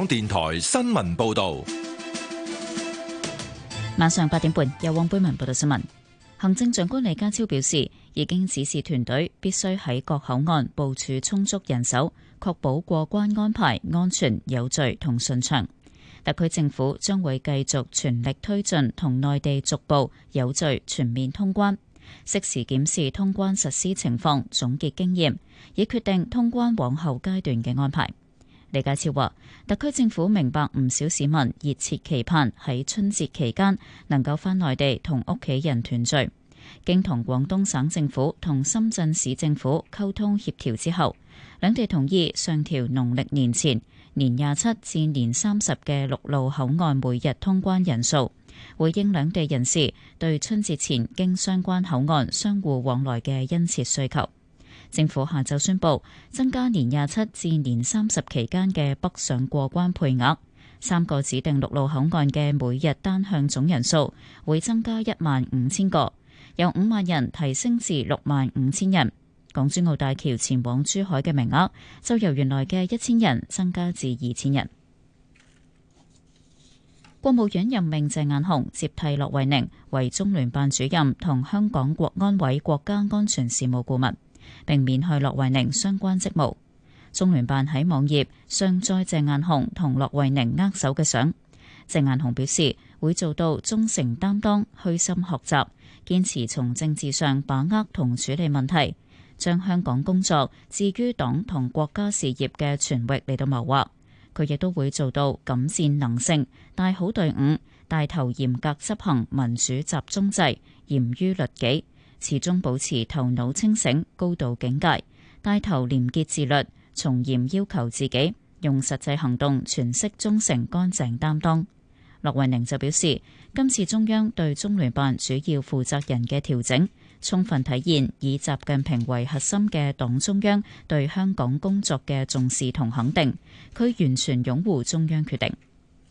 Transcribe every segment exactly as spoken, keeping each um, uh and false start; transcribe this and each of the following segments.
電台新聞報道。 晚上八點半，由汪貝文報道新聞。行政長官李家超表示，已經指示團隊必須喺各口岸部署充足人手，確保過關安排安全有序同順暢。特區政府將會繼續全力推進同內地逐步有序全面通關，適時檢視通關實施情況，總結經驗，以決定通關往後階段嘅安排。李家超話，特區政府明白唔少市民熱切期盼喺春節期間能夠返內地同屋企人團聚。經同廣東省政府同深圳市政府溝通協調之後，兩地同意上調農曆年前年廿七至年三十嘅陸路口岸每日通關人數，回應兩地人士對春節前經相關口岸相互往來嘅殷切需求。政府下晝宣布增加年廿七至年三十期間嘅北上過關配額，三個指定陸路口岸嘅每日單向總人數會增加一萬五千個，由五萬人提升至六萬五千人。港珠澳大橋前往珠海嘅名額就由原來嘅一千人增加至二千人。國務院任命鄭雁雄接替駱惠寧為中聯辦主任同香港國安委國家安全事務顧問，並免去駱惠寧相關職務。中聯辦喺網頁上載鄭雁雄同駱惠寧握手嘅相。鄭雁雄表示會做到忠誠擔當、虛心學習，堅持從政治上把握同處理問題，將香港工作置於黨同國家事業嘅全域嚟到謀劃。佢亦都會做到敢戰能勝，帶好隊伍，帶頭嚴格執行民主集中制，嚴於律己，始終保持頭腦清醒、高度警戒，帶頭廉潔自律，從嚴要求自己，用實際行動詮釋忠誠乾淨擔當。駱惠寧就表示，今次中央對中聯辦主要負責人嘅調整，充分體現以習近平為核心嘅黨中央對香港工作嘅重視同肯定，佢完全擁護中央決定。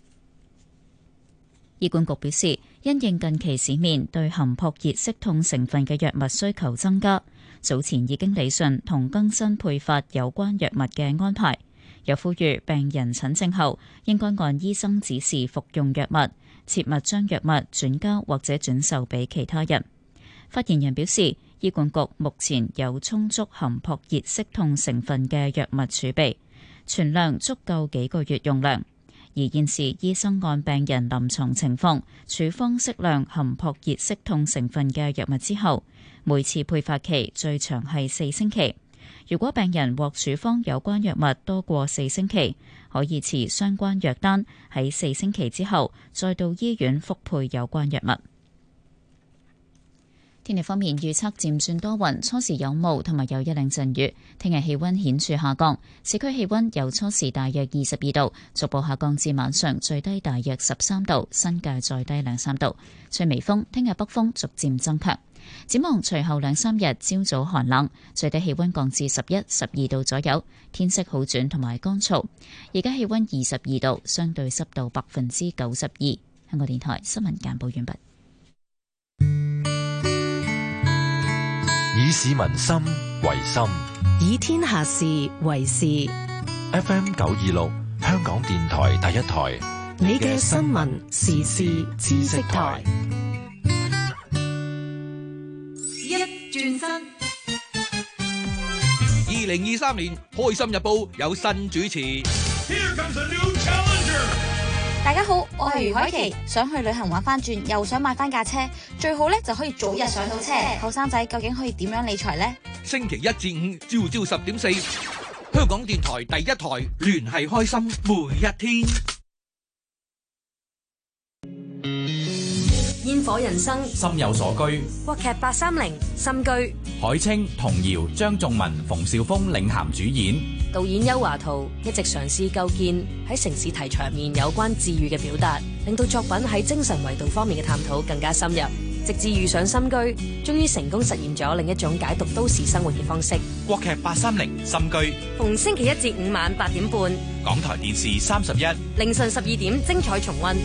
醫管局表示，因應近期市面對含撲熱息痛成分嘅藥物需求增加，早前已經理順同更新配發有關藥物嘅安排，又呼籲病人診症後應該按醫生指示服用藥物，切勿將藥物轉交或者轉售俾其他人。發言人表示，醫管局目前有充足含撲熱息痛成分嘅藥物儲備，存量足夠幾個月用量。而現時醫生按病人臨床情況處方適量含撲熱息痛成分嘅藥物之後，每次配發期最長係四星期。如果病人獲處方有關藥物多過四星期，可以持相關藥單喺四星期之後再到醫院復配有關藥物。天氣方面預測漸轉多雲，初時有霧同埋有一兩陣雨。聽日氣溫顯著下降，市區氣溫由初時大約二十二度，逐步下降至晚上最低大約十三度，新界再低兩三度。吹微風，聽日北風逐漸增強。展望隨後兩三日朝早寒冷，最低氣溫降至十一、十二度左右，天色好轉同埋乾燥。而家氣溫二十二度，相對濕度百分之九十二。香港電台新聞簡報完畢。 以市民心為心， 以天下事為事。 F M 九二六，香港電台第一台， 你嘅新聞時事知識台。 一轉身，二零二三年開心日報有新主持。Here comes a new challenger。 大家好，我係余海琪，想去旅行玩翻轉，又想買翻架車，最好咧就可以早日上到車。後生仔究竟可以點樣理財呢？ 星期一至五朝朝十點四，香港電台第一台，聯繫開心每一天。 煙火人生， 心有所居。 國劇八三零心居， 海清、童瑤、張頌文、馮紹峰領銜主演。 導演邱華圖一直嘗試構建喺城市題材面有關治癒嘅表達，令到作品喺精神維度方面嘅探討更加深入。直至遇上心居，終於成功實現咗另一種解讀都市生活嘅方式。 國劇八三零心居， 逢星期一至五晚八點半， 港台電視三十一， 凌晨十二點精彩重溫。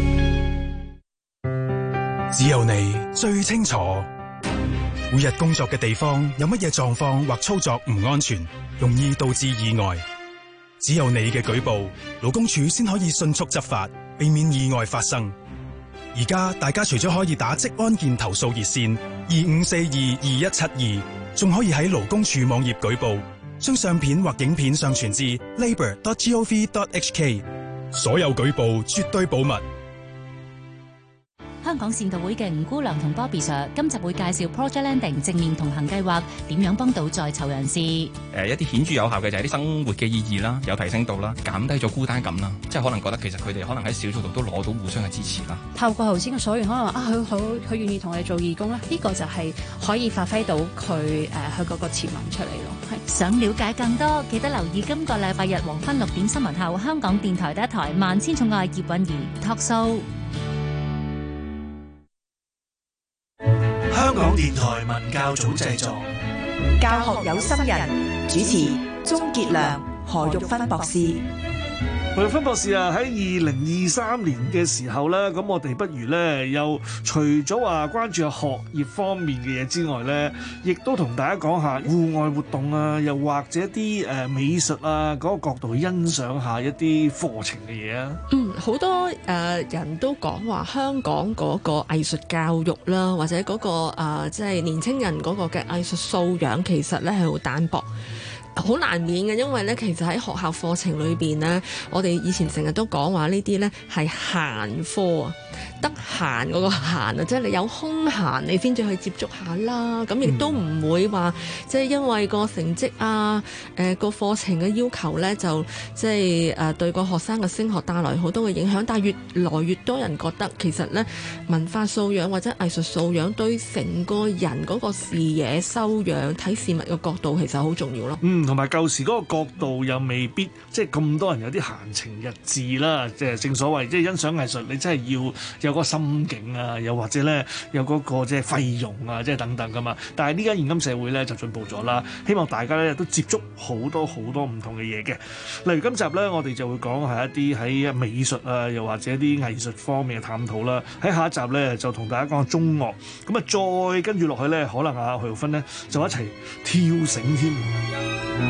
只有你最清楚，每日工作嘅地方有乜嘢狀況或操作唔安全，容易導致意外。 只有你嘅舉報，勞工處先可以迅速執法，避免意外發生。而家大家除咗可以打職安健投訴熱線二五四二二一七二，仲可以喺勞工處網頁舉報，將相片或影片上傳至 labour dot gov dot hk。所有舉報絕對保密。 香港善導會嘅吳姑娘同 Bobby Sir 今集會介紹 Project Landing 正面同行計劃點樣幫到在囚人士。誒、 呃、一啲顯著有效嘅就係啲生活嘅意義啦，有提升到啦，減低咗孤單感啦，即係可能覺得其實佢哋可能喺小組度都攞到互相嘅支持啦。 透過頭先嘅所言，可能話啊，佢好佢願意同我哋做義工咧，呢、這個就係可以發揮到佢誒佢嗰個潛能出嚟咯。係想了解更多，記得留意今個禮拜日黃昏六點新聞後，香港電台第一台《萬千寵愛葉韻儀》Talk Show。 香港電台文教組製作， 教學有心人，主持鍾傑良、何玉芬博士。 何玉芬博士啊，喺二零二三年嘅時候咧，咁我哋不如咧，又除咗話關注學業方面嘅嘢之外咧，亦都同大家講下戶外活動啊，又或者啲誒美術啊嗰個角度去欣賞下一啲課程嘅嘢啊。 嗯，好多誒、呃、人都講話香港嗰個藝術教育啦，或者嗰、嗰個誒即係年青人嗰個嘅藝術素養，其實咧係好單薄。好難免嘅，因為咧，其實喺學校課程裏邊咧，我哋以前成日都講話呢啲咧係閒科啊，得閒嗰個閒啊，即係你有空閒你先至去接觸下啦。咁亦都唔會話即係因為個成績啊，誒個課程嘅要求咧，就即係誒對個學生嘅升學帶來好多嘅影響。但係越來越多人覺得其實咧文化素養或者藝術素養對成個人嗰個視野修養睇事物嘅角度其實好重要咯。 嗯。同埋舊時嗰個角度又未必即係咁多人有啲閒情逸致啦，即係正所謂即係欣賞藝術，你真係要有個心境啊，又或者咧有嗰個即係費用啊，即係等等噶嘛。但係呢間現今社會咧就進步咗啦，希望大家咧都接觸好多好多唔同嘅嘢嘅。例如今集咧，我哋就會講係一啲喺美術啊，又或者啲藝術方面嘅探討啦。喺下一集咧就同大家講下中樂，咁啊再跟住落去咧，可能阿何玉芬咧就一齊跳繩添。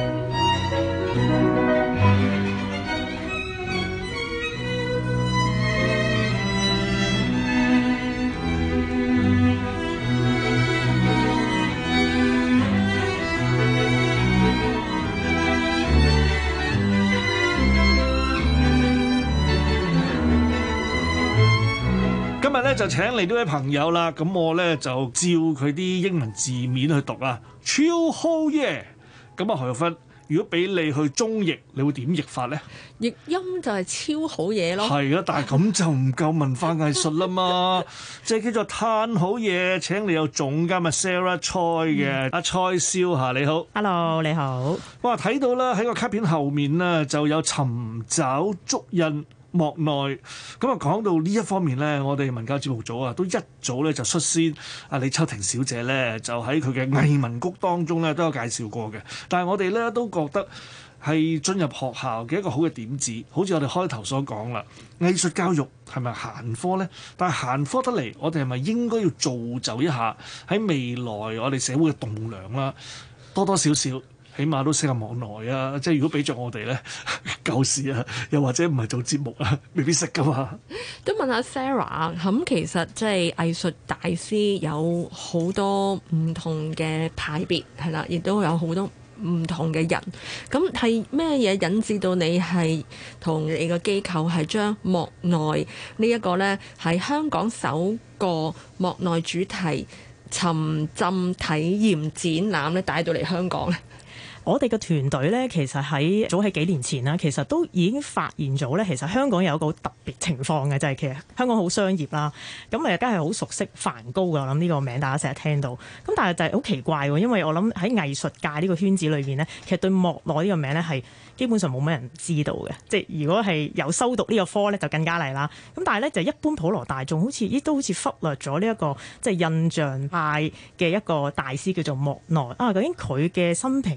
今日咧就請嚟呢位朋友啦，咁我咧就照佢啲英文字面去讀啊，超好嘢！咁啊，何玉芬，如果俾你去中譯，你會點譯法咧？ 譯音就係超好嘢咯。係啊，但係咁就唔夠文化藝術啦嘛，即係叫做嘆好嘢。請你有總監啊 Sarah Choi 嘅阿蔡少霞，你好。 Hello， 你好。哇， 睇到啦，喺個卡片後面呢，就有尋找足印莫內，咁啊講到呢一方面咧，我哋文教節目組啊都一早咧就率先啊李秋婷小姐咧就喺佢嘅藝文谷當中咧都有介紹過嘅，但係我哋咧都覺得係進入學校嘅一個好嘅點子，好似我哋開頭所講啦，藝術教育係咪閒科咧？但係閒科得嚟，我哋係咪應該要造就一下喺未來我哋社會嘅棟梁啦，多多少少。起碼都識下網內啊！即係如果俾着我哋咧，舊時啊，又或者唔係做節目啊，未必識噶嘛。 都問下 Sarah，咁其實即係藝術大師有好多唔同嘅派別，係啦，亦都有好多唔同嘅人。咁係咩嘢引致到你係同你個機構係將莫內呢一個咧喺香港首個莫內主題沉浸體驗展覽咧帶到嚟香港咧？ 我哋嘅團隊咧，其實喺早喺幾年前啦，其實都已經發現咗咧，其實香港有一個特別情況嘅，就係其實香港好商業啦，咁誒梗係好熟悉梵高嘅，我諗呢個名大家成日聽到，咁但係就係好奇怪喎，因為我諗喺藝術界呢個圈子裏邊咧，其實對莫內呢個名咧係基本上冇乜人知道嘅，即係如果係有修讀呢個科咧，就更加嚟啦。咁但係咧就一般普羅大眾好似亦都好似忽略咗呢一個即係印象派嘅一個大師叫做莫內啊，究竟佢嘅生平嘅事蹟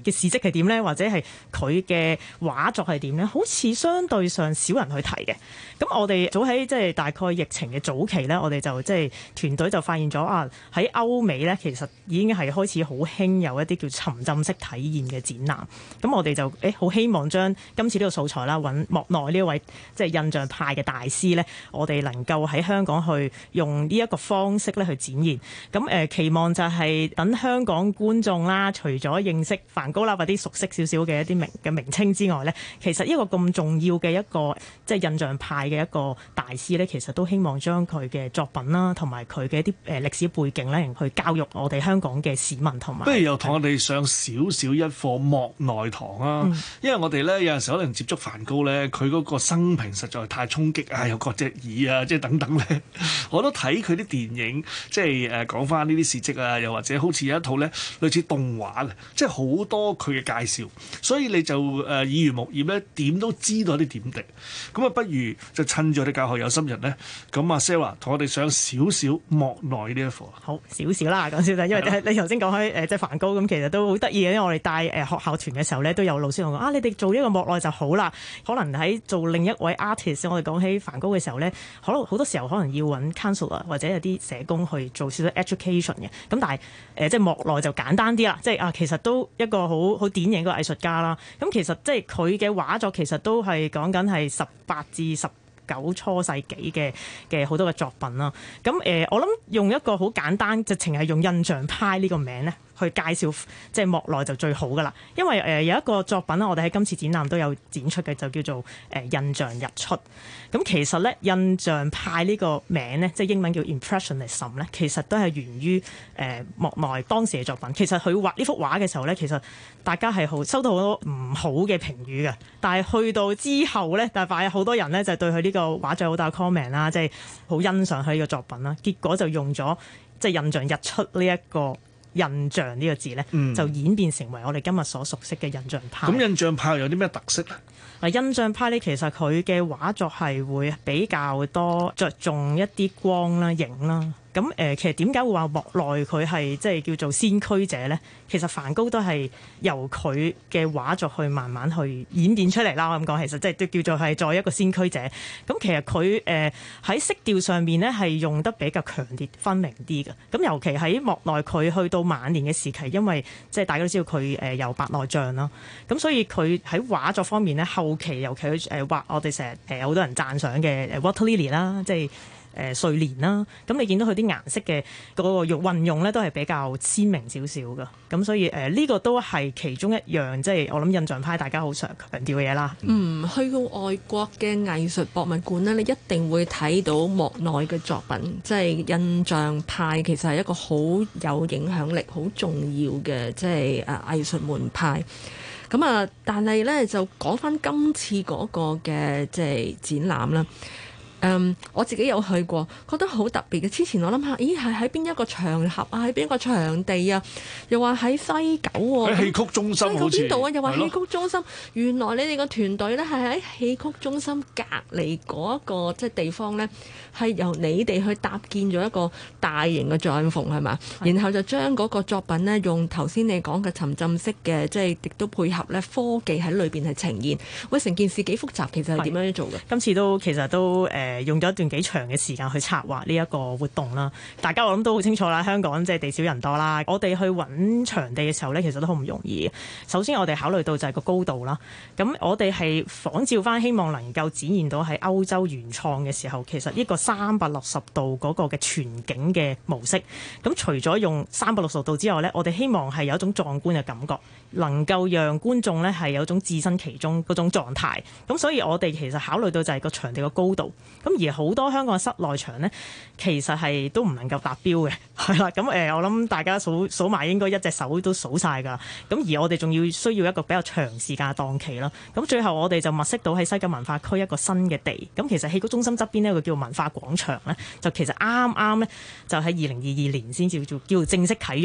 係點咧？或者係佢嘅畫作係點咧？好似相對上少人去提嘅。咁我哋早喺即係大概疫情嘅早期咧，我哋就即係團隊就發現咗啊，喺歐美咧其實已經係開始好興有一啲叫沉浸式體驗嘅展覽。咁我哋就誒好希望將今次呢個素材啦，揾莫奈呢一位即係印象派嘅大師咧，我哋能夠喺香港去用呢一個方式咧去展現。咁誒期望就係等香港觀眾啦，除咗認識梵高啦或啲熟悉少少嘅一啲名嘅名稱之外咧，其實一個咁重要嘅一個即係印象派嘅一個大師咧，其實都希望將佢嘅作品啦，同埋佢嘅一啲誒歷史背景咧，去教育我哋香港嘅市民同埋。不如又同我哋上少少一課莫奈堂啊！嗯、因為我哋咧有陣時可能接觸梵高咧，佢嗰個生平實在太衝擊啊，有割隻耳啊，即係等等咧。我都睇佢啲電影，即係誒講翻呢啲事蹟啊，又或者好似有一套咧類似動畫嘅，即係好多佢嘅介紹，所以你就誒耳濡目染咧，點都知道啲點滴。咁啊，不如就趁住我哋教學有心人咧，咁啊 Sarah 同我哋上少少莫奈呢一課。 好少少啦，講少少，因為你頭先講開誒即係梵高咁，其實都好得意嘅，因為我哋帶誒學校團嘅時候咧，都有老師同我講啊，你哋做呢個莫奈就好啦。可能喺做另一位 artist，我哋講起梵高嘅時候咧，可能好多時候可能要揾 counselor 或者有啲社工去做少少 education 嘅。咁但係誒、呃、即係莫奈就簡單啲啦，即係啊其實都一個好好典型嘅藝術家啦。咁其實即係佢嘅畫作其實都係講緊係十八至十九初世紀嘅嘅好多嘅作品啦。咁誒、呃、我諗用一個好簡單，直情係用印象派呢個名咧，去介紹即係莫奈就最好噶啦，因為誒、呃、有一個作品啦，我哋喺今次展覽都有展出嘅，就叫做誒、呃、印象日出。咁其實咧印象派呢個名咧，即係英文叫 Impressionism 咧，其實都係源於誒、呃、莫奈當時嘅作品。其實佢畫呢幅畫嘅時候咧，其實大家係好收到好多唔好嘅評語嘅，但係去到之後咧，但係好多人咧就對佢呢個畫作好大 comment 啦，即係好欣賞佢呢個作品啦。結果就用咗即係印象日出呢一個印象呢個字咧，嗯、就演變成為我哋今日所熟悉嘅印象派。咁印象派有啲咩特色咧？ 嗱，印象派咧，其實佢嘅畫作係會比較多着重一啲光啦、影啦。咁誒、呃，其實點解會話莫奈佢係即係叫做先驅者咧？其實梵高都係由佢嘅畫作去慢慢去演變出嚟啦。我咁講，其實即係都叫做係再一個先驅者。咁其實佢誒喺色調上面咧係用得比較強烈分明啲嘅。咁尤其喺莫奈佢去到晚年嘅時期，因為即係大家都知道佢誒有白內障啦。咁所以佢喺畫作方面咧，後期尤其佢誒畫我哋成日誒有好多人讚賞嘅誒 Water Lily 啦，即係。誒睡蓮啦，咁你見到佢啲顏色嘅嗰個用運用咧，都係比較鮮明少少㗎。咁所以誒，呢、呃這個都係其中一樣，即係我諗印象派大家好常強調嘅嘢啦。 嗯，去到外國嘅藝術博物館呢，你一定會睇到莫奈嘅作品，即係印象派其實係一個好有影響力、好重要嘅即係誒藝術門派。咁啊，但係咧就講返今次嗰個嘅即係展覽啦。Um, 我自己有去過，覺得好特別嘅。之前我諗下，咦係喺邊一個場合啊？喺邊一個場地啊？又話喺西九喎、啊， 喺戲曲中心好似邊度啊？又話戲曲中心。 的原來你哋個團隊咧係喺戲曲中心隔離嗰一個即係地方咧，係由你哋去搭建咗一個大型嘅帳篷係嘛？的然後就將嗰個作品咧用頭先你講嘅沉浸式嘅，即係亦都配合咧科技喺裏邊係呈現。喂，成件事幾複雜，其實係點樣做嘅？ 今次都其實都誒。呃用咗一段幾長嘅時間去策劃呢一個活動啦，大家我諗都好清楚啦。香港即係地少人多啦，我哋去揾場地嘅時候呢，其實都好唔容易。首先我哋考慮到就係個高度啦，咁我哋係仿照翻，希望能夠展現到喺歐洲原創嘅時候，其實一個三百六十度嗰個嘅全景嘅模式。咁除咗用三百六十度之外呢，我哋希望係有一種壯觀嘅感覺，能夠讓觀眾呢係有一種置身其中嗰種狀態。咁所以我哋其實考慮到就係個場地嘅高度。咁而好多香港室內場呢，其實係都唔能夠達標嘅，係啦。咁誒，我諗大家數數埋應該一隻手都數晒㗎。咁而我哋仲要需要一個比較長時間嘅檔期啦。咁最後我哋就物色到喺西九文化區一個新嘅地。咁其實戲曲中心側邊呢，有個叫文化廣場呢，就其實啱啱呢，就喺二零二二年先至叫叫正式啟用。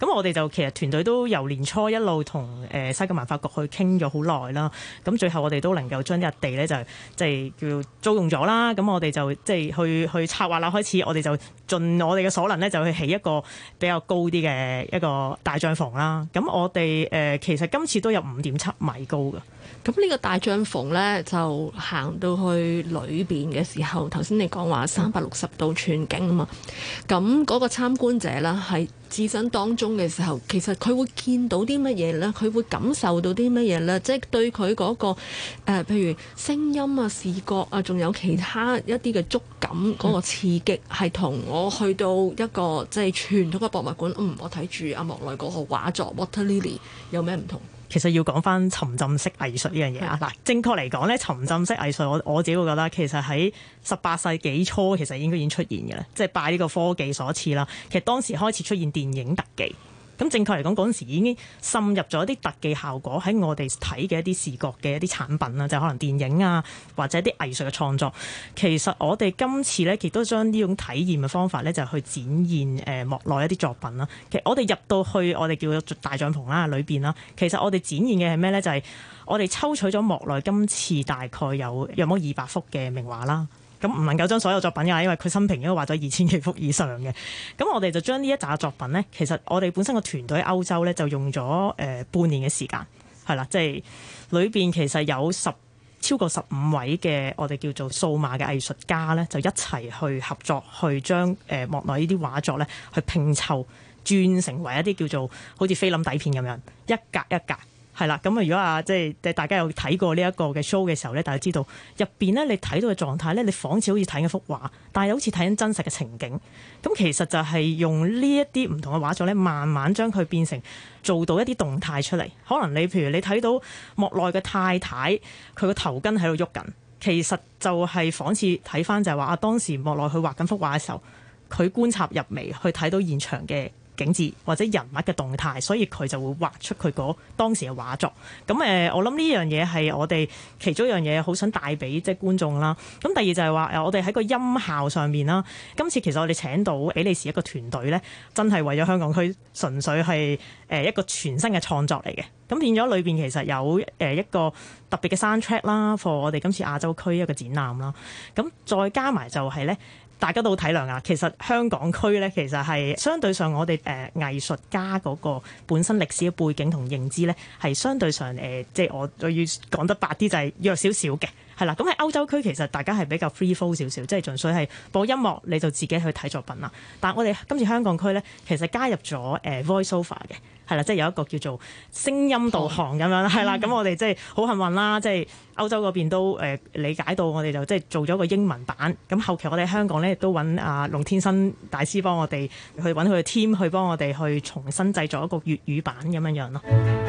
咁我哋就其實團隊都由年初一路同誒西九文化局去傾咗好耐啦。咁最後我哋都能夠將呢笪地咧就即係叫租用咗啦。咁我哋就即係去去策劃啦，開始我哋就盡我哋嘅所能咧，就去起一個比較高啲嘅一個大帳篷啦。咁我哋誒、呃、其實今次都有五點七米高㗎。 咁呢個大帳篷咧，就行到去裏邊嘅時候，頭先你講話三百六十度全景啊嘛。咁嗰個參觀者啦，係置身當中嘅時候，其實佢會見到啲乜嘢咧？佢會感受到啲乜嘢咧？即係對佢嗰個誒，譬如聲音啊、視覺啊，仲有其他一啲嘅觸感嗰個刺激，係同我去到一個即係傳統嘅博物館，嗯，我睇住阿莫奈嗰個畫作 Water Lily 有咩唔同？ 其實要講翻沉浸式藝術呢樣嘢啊！嗱，正確嚟講咧，沉浸式藝術我我自己會覺得其實喺十八世紀初其實應該已經出現嘅啦，即係拜呢個科技所賜啦。其實當時開始出現電影特技。咁正確嚟講，嗰陣時已經滲入咗一啲特技效果喺我哋睇嘅一啲視覺嘅一啲產品啦，就係可能電影啊，或者啲藝術嘅創作。其實我哋今次咧，亦都將呢種體驗嘅方法咧，就去展現誒莫奈一啲作品啦。其實我哋入到去我哋叫做大帳篷啦，裏邊啦，其實我哋展現嘅係咩咧？就係我哋抽取咗莫奈今次大概有約莫二百幅嘅名畫啦。咁唔能夠將所有作品㗎，因為佢生平應該畫咗二千幾幅以上嘅。咁我哋就將呢一紮作品呢，其實我哋本身個團隊喺歐洲呢，就用咗誒、呃、半年嘅時間，係啦，即係裏邊其實有十超過十五位嘅我哋叫做數碼嘅藝術家呢，就一齊去合作，去將誒、呃、莫奈呢啲畫作呢去拼湊，轉成為一啲叫做好似菲林底片咁樣，一格一格。係啦，咁啊，如果啊，即係大家有睇過呢一個嘅 show 嘅時候咧，大家知道入邊咧，你睇到嘅狀態咧，你仿似好似睇緊幅畫，但係好似睇緊真實嘅情景。咁其實就係用呢一啲唔同嘅畫作咧，慢慢將佢變成做到一啲動態出嚟。可能你譬如你睇到莫奈嘅太太，佢個頭巾喺度喐緊，其實就係仿似睇翻就係話啊，當時莫奈去畫緊幅畫嘅時候，佢觀察入微去睇到現場嘅景緻或者人物嘅動態，所以佢就會畫出佢嗰當時嘅畫作。咁誒，我諗呢樣嘢係我哋其中一樣嘢好想帶俾即係觀眾啦。咁第二就係話誒，我哋喺個音效上面啦。今次其實我哋請到比利時一個團隊咧，真係為咗香港區純粹係誒一個全新嘅創作嚟嘅。咁變咗裏邊其實有誒一個特別嘅 soundtrack 啦，for 我哋今次亞洲區一個展覽啦。咁再加埋就係咧。大家都好體諒啊！其實香港區咧，其實係相對上我哋誒、呃、藝術家嗰個本身歷史嘅背景同認知咧，係相對上誒、呃，即係我我要講得白啲就係弱少少嘅，係啦。咁喺歐洲區其實大家係比較 free flow 少少，即係純粹係播音樂你就自己去睇作品啦。但係我哋今次香港區咧，其實加入咗誒、呃、voice over 嘅。係啦，即係有一個叫做聲音導航咁樣，係啦。咁我哋即係好幸運啦，即係歐洲嗰邊都誒理解到，我哋就即係做咗個英文版。咁後期我哋香港咧亦都揾阿龍天生大師幫我哋去揾佢嘅 team 去幫我哋去重新製作一個粵語版咁樣樣咯。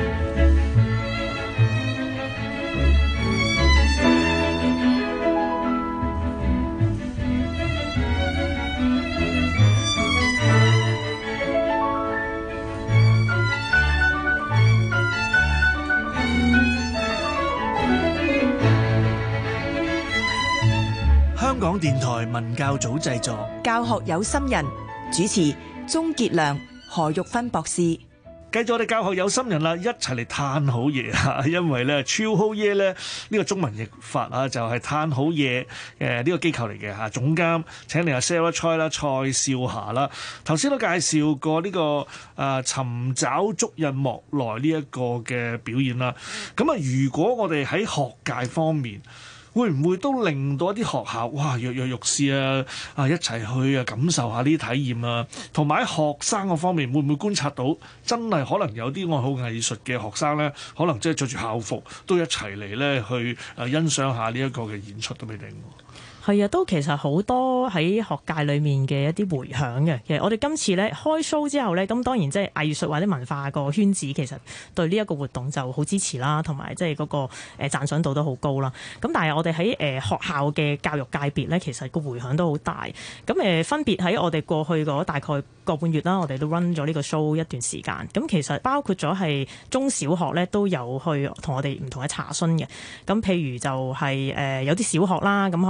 香港電台文教組製作， 教學有心人主持鍾傑良、何玉芬博士。 繼續我哋教學有心人啦，一齊嚟嘆好嘢啊！因為咧超好嘢咧呢個中文譯法啊，就係嘆好嘢誒呢個機構嚟嘅嚇。總監請嚟阿 Sarah Choi 啦、蔡少霞啦，頭先都介紹過呢、這個誒、呃、尋找足印莫奈呢一個嘅表演啦。咁啊，如果我哋喺學界方面，會唔會都令到一啲學校哇躍躍欲試啊啊一齊去啊感受下呢啲體驗啊，同埋喺學生嗰方面會唔會觀察到真係可能有啲愛好藝術嘅學生咧，可能即係着住校服都一齊嚟咧去誒欣賞下呢一個嘅演出都未定。 係啊，都其實好多喺學界裏面嘅一啲迴響嘅。其實我哋今次咧開 show 之後咧，咁當然即係藝術或者文化個圈子其實對呢一個活動就好支持啦，同埋即係嗰個誒讚賞度都好高啦。咁但係我哋喺誒學校嘅教育界別咧，其實個迴響都好大。咁誒分別喺我哋過去嗰大概個半月啦，我哋都 run 咗呢個 show 一段時間。咁其實包括咗係中小學咧都有去同我哋唔同嘅查詢嘅。咁譬如就係誒有啲小學啦，咁可能有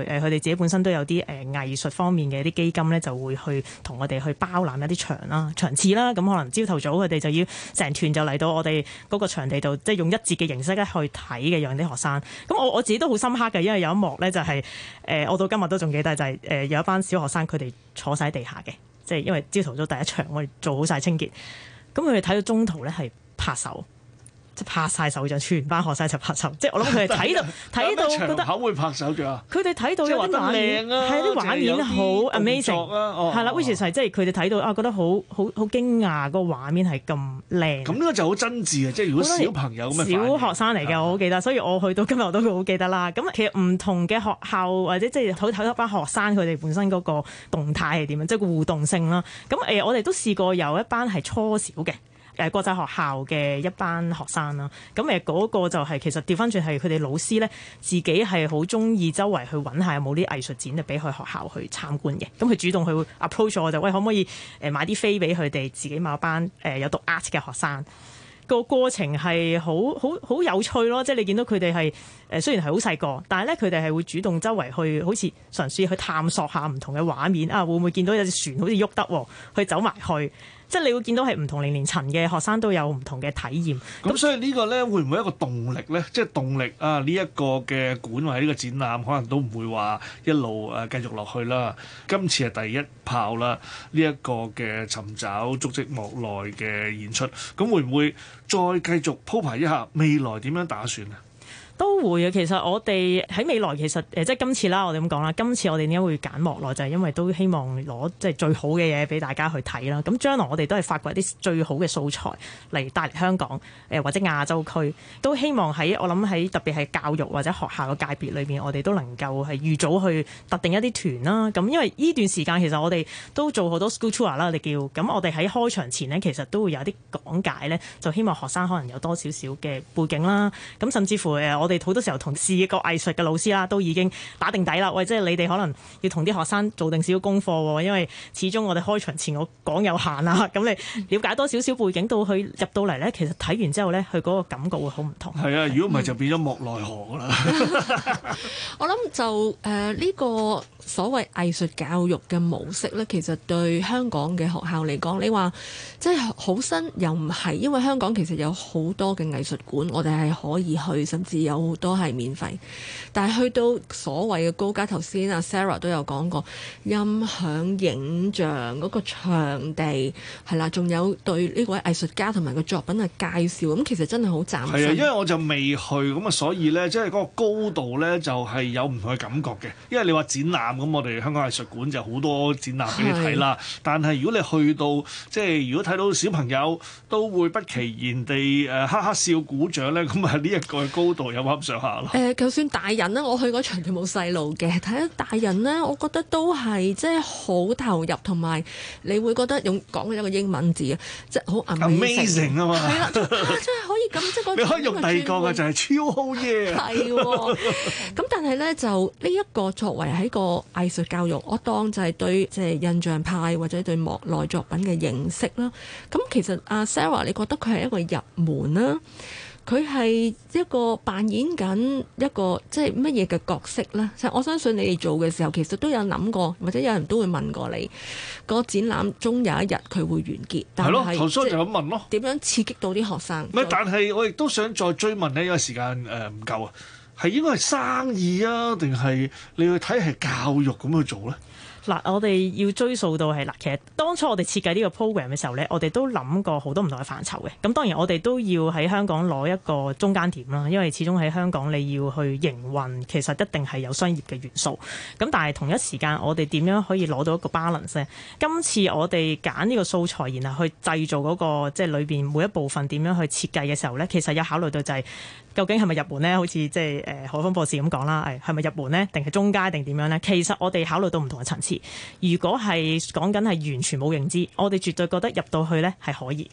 誒佢哋自己本身都有啲誒、呃、藝術方面嘅啲基金咧，就會去同我哋去包攬一啲場啦、場次啦。咁可能朝頭早佢哋就要成團就嚟到我哋嗰個場地度，即係用一節嘅形式咧去睇嘅，讓啲學生。咁我我自己都好深刻嘅，因為有一幕咧就係、是、誒、呃，我到今日都仲記得，就係、是、誒、呃、有一班小學生佢哋坐晒喺地下嘅，即係因為朝頭早第一場我哋做好晒清潔，咁佢哋睇到中途咧係拍手。即係拍晒手掌，全班學生一齊拍手。即係我諗佢哋睇到睇到覺得口會拍手掌啊！ 佢哋睇到有啲畫面，係啲畫面好 amazing，係啦。which is 係即係佢哋睇到啊，覺得好好好驚訝，個畫面係咁靚。咁呢個就好真摯啊！即係如果小朋友咁嘅小學生嚟嘅，我好記得，所以我去到今日我都好記得啦。咁其實唔同嘅學校或者即係睇睇一班學生佢哋本身嗰個動態係點樣，即係個互動性啦。咁誒，我哋都試過有一班係初小嘅。誒國際學校嘅一班學生啦，咁誒嗰個就係、是、其實調翻轉係佢哋老師咧，自己係好中意周圍去揾下有冇啲藝術展，就俾佢學校去參觀嘅。咁佢主動去 approach 我就喂，可唔可以誒買啲飛俾佢哋自己某班誒有讀 art 嘅學生？個過程係好好好有趣咯，即係你見到佢哋係誒雖然係好細個，但係咧佢哋係會主動周圍去好似嘗試去探索下唔同嘅畫面啊，會唔會見到有隻船好似喐得，去走埋去。即係你會見到係唔同年齡層嘅學生都有唔同嘅體驗。 咁所以呢個咧會唔會一個動力咧？即係動力啊！呢一個嘅館或者呢個展覽，可能都唔會話一路誒繼續落去啦。今次係第一炮啦，呢一個嘅尋找足跡莫內嘅演出，咁會唔會再繼續鋪排一下未來點樣打算啊？ 都會啊！其實我哋喺未來其實誒即係今次啦，我哋咁講啦，今次我哋點解會揀莫內，就係因為都希望攞即係最好嘅嘢俾大家去睇啦。咁將來我哋都係發掘啲最好嘅素材嚟帶嚟香港誒或者亞洲區，都希望喺我諗喺特別係教育或者學校嘅界別裏邊，我哋都能夠係預早去特定一啲團啦。咁因為呢段時間其實我哋都做好多 school tour 啦，我哋叫咁我哋喺開場前呢，其實都會有啲講解咧，就希望學生可能有多少少嘅背景啦。咁甚至乎誒我哋好多時候同視覺藝術嘅老師啦，都已經打定底啦。喂，即係你哋可能要同啲學生做定少少功課喎，因為始終我哋開場前我講有限啦。咁你了解多少少背景到去入到嚟咧，其實睇完之後咧，佢嗰個感覺會好唔同。 係啊，如果唔係就變咗莫奈何啦。 我諗就誒呢、呃呢個所謂藝術教育嘅模式咧，其實對香港嘅學校嚟講，你話即係好新又唔係，因為香港其實有好多嘅藝術館，我哋係可以去，甚至有好多係免費。但係去到所謂嘅高階，頭先阿 Sarah 都有講過，音響、影像嗰個場地係啦，仲有對呢位藝術家同埋個作品嘅介紹，咁其實真係好嶄新。 係啊，因為我就未去，咁啊，所以咧，即係嗰個高度咧，就係有唔同嘅感覺嘅。因為你話展覽咁，我哋香港藝術館就好多展覽俾你睇啦。但係如果你去到即係如果睇到小朋友都會不其然地誒哈哈笑鼓掌咧，咁啊呢一個高度有冇咁上下咯？ 誒、呃，就算大人咧，我去嗰場就冇細路嘅。睇下大人咧，我覺得都係即係好投入，同埋你會覺得用講一個英文字啊，即係好 amazing 啊嘛。 係啦，真係可以咁即係嗰種。 你可以用第二個嘅就係超好嘢。 係喎，咁但係咧就呢一個作為喺個藝術教育，我當就係對即係印象派或者對莫內作品嘅認識啦。咁其實阿 Sarah，你覺得佢係一個入門啦？佢係一個扮演緊一個即係乜嘢嘅角色呢？我相信你哋做嘅時候，其實都有諗過，或者有人都會問過你，個展覽終有一日佢會完結。 係咯，頭先就咁問咯。 點樣刺激到啲學生？ 唔係，但係我亦都想再追問呢，因為時間誒唔夠啊，係應該係生意啊，定係你去睇係教育咁去做呢？ 嗱，我哋要追溯到係嗱，其實當初我哋設計呢個 program 嘅時候咧，我哋都諗過好多唔同嘅範疇嘅。咁當然我哋都要喺香港攞一個中間點啦，因為始終喺香港你要去營運，其實一定係有商業嘅元素。咁但係同一時間，我哋點樣可以攞到一個 balance 咧？今次我哋揀呢個素材，然後去製造嗰個即係裏邊每一部分點樣去設計嘅時候咧，其實有考慮到就係究竟係咪入門咧？好似即係誒何峰博士咁講啦，誒係咪入門咧？定係中階定點樣咧？其實我哋考慮到唔同嘅層次。如果係講緊係完全冇認知，我哋絕對覺得入到去咧係可以嘅。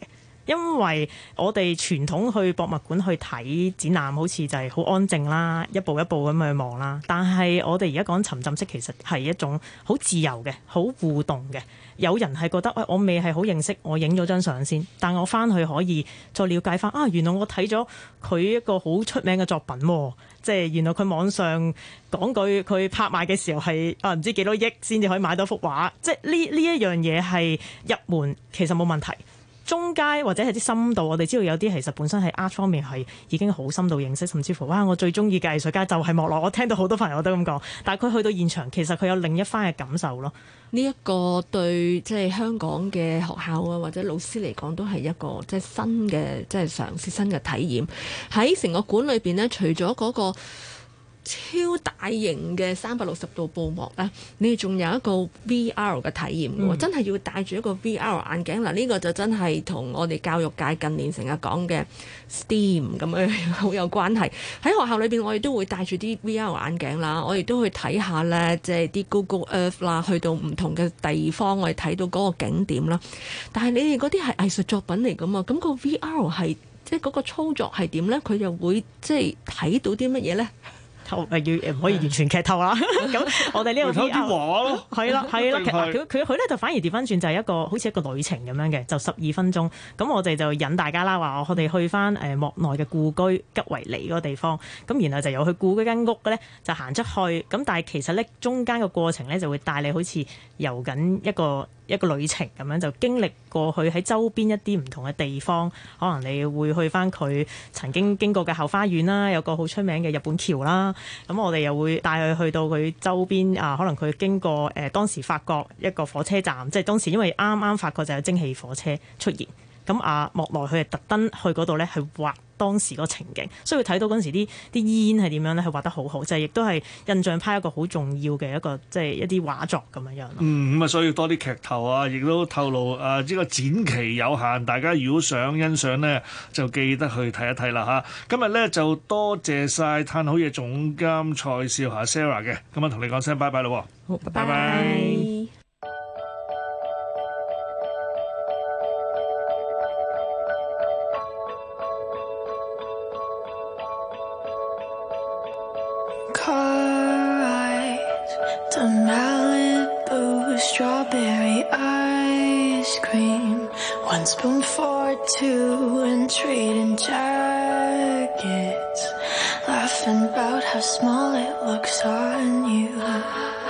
因為我哋傳統去博物館去睇展覽，好似就係好安靜啦，一步一步咁去望啦。但係我哋而家講沉浸式，其實係一種好自由嘅、好互動嘅。有人係覺得，喂、哎，我未係好認識，我影咗張相先，但我翻去可以再了解翻啊，原來我睇咗佢一個好出名嘅作品喎，即係原來佢網上講句佢拍賣嘅時候係啊唔知幾多億先至可以買到幅畫，即係呢呢一樣嘢係入門其實冇問題。中階或者係啲深度，我哋知道有啲其實本身喺 art 方面係已經好深度認識，甚至乎哇，我最中意嘅藝術家就係莫奈。我聽到好多朋友都咁講，但係佢去到現場，其實佢有另一番嘅感受咯。 呢一個對即係香港嘅學校啊，或者老師嚟講，都係一個即係新嘅即係嘗試新嘅體驗。喺成個館裏邊呢，除咗嗰個超大型嘅三百六十度布幕咧，你仲有一個 V R 嘅體驗嘅喎，嗯、真係要戴住一個 V R 眼鏡嗱，呢、這個就真係同我哋教育界近年成日講嘅 STEAM 咁樣好有關係。喺學校裏邊，我哋都會戴住啲 V R 眼鏡啦，我哋都去睇下咧，即係啲 Google Earth 啦，去到唔同嘅地方，我哋睇到嗰個景點啦。但係你哋嗰啲係藝術作品嚟㗎嘛，咁、那個 V R 係即係嗰個操作係點咧？佢又會即係睇到啲乜嘢咧？ 透誒要唔可以完全劇透啦。咁我哋呢個 V R 係啦係啦，佢佢佢咧就反而調翻轉，就係一個好似一個旅程咁樣嘅，就十二分鐘。咁我哋就引大家啦，話我哋去翻誒莫奈嘅故居吉維尼嗰個地方。咁然後就由去故居間屋嘅咧，就行出去。咁但係其實咧中間個過程咧就會帶你好似遊緊一個一個旅程咁樣，就經歷過去喺周邊一啲唔同嘅地方，可能你會去翻佢曾經經過嘅後花園啦，有個好出名嘅日本橋啦。咁我哋又會帶佢去到佢周邊啊，可能佢經過誒、呃、當時法國一個火車站，即係當時因為啱啱法國就有蒸汽火車出現。咁啊莫奈佢係特登去嗰度咧，係畫當時個情景，所以佢睇到嗰陣時啲啲煙係點樣咧，係畫得好好，就係亦都係印象派一個好重要嘅一個即係一啲畫作咁樣樣咯。嗯， 咁啊，所以多啲劇透啊，亦都透露啊，呢個展期有限，大家如果想欣賞呢，就記得去睇一睇啦嚇。今日咧就多謝晒嘆好嘢總監蔡少霞 Sarah 嘅，咁啊同你講聲拜拜咯。好，拜拜。 The Malibu strawberry ice cream, one spoon for two and trading jackets, laughing about how small it looks on you.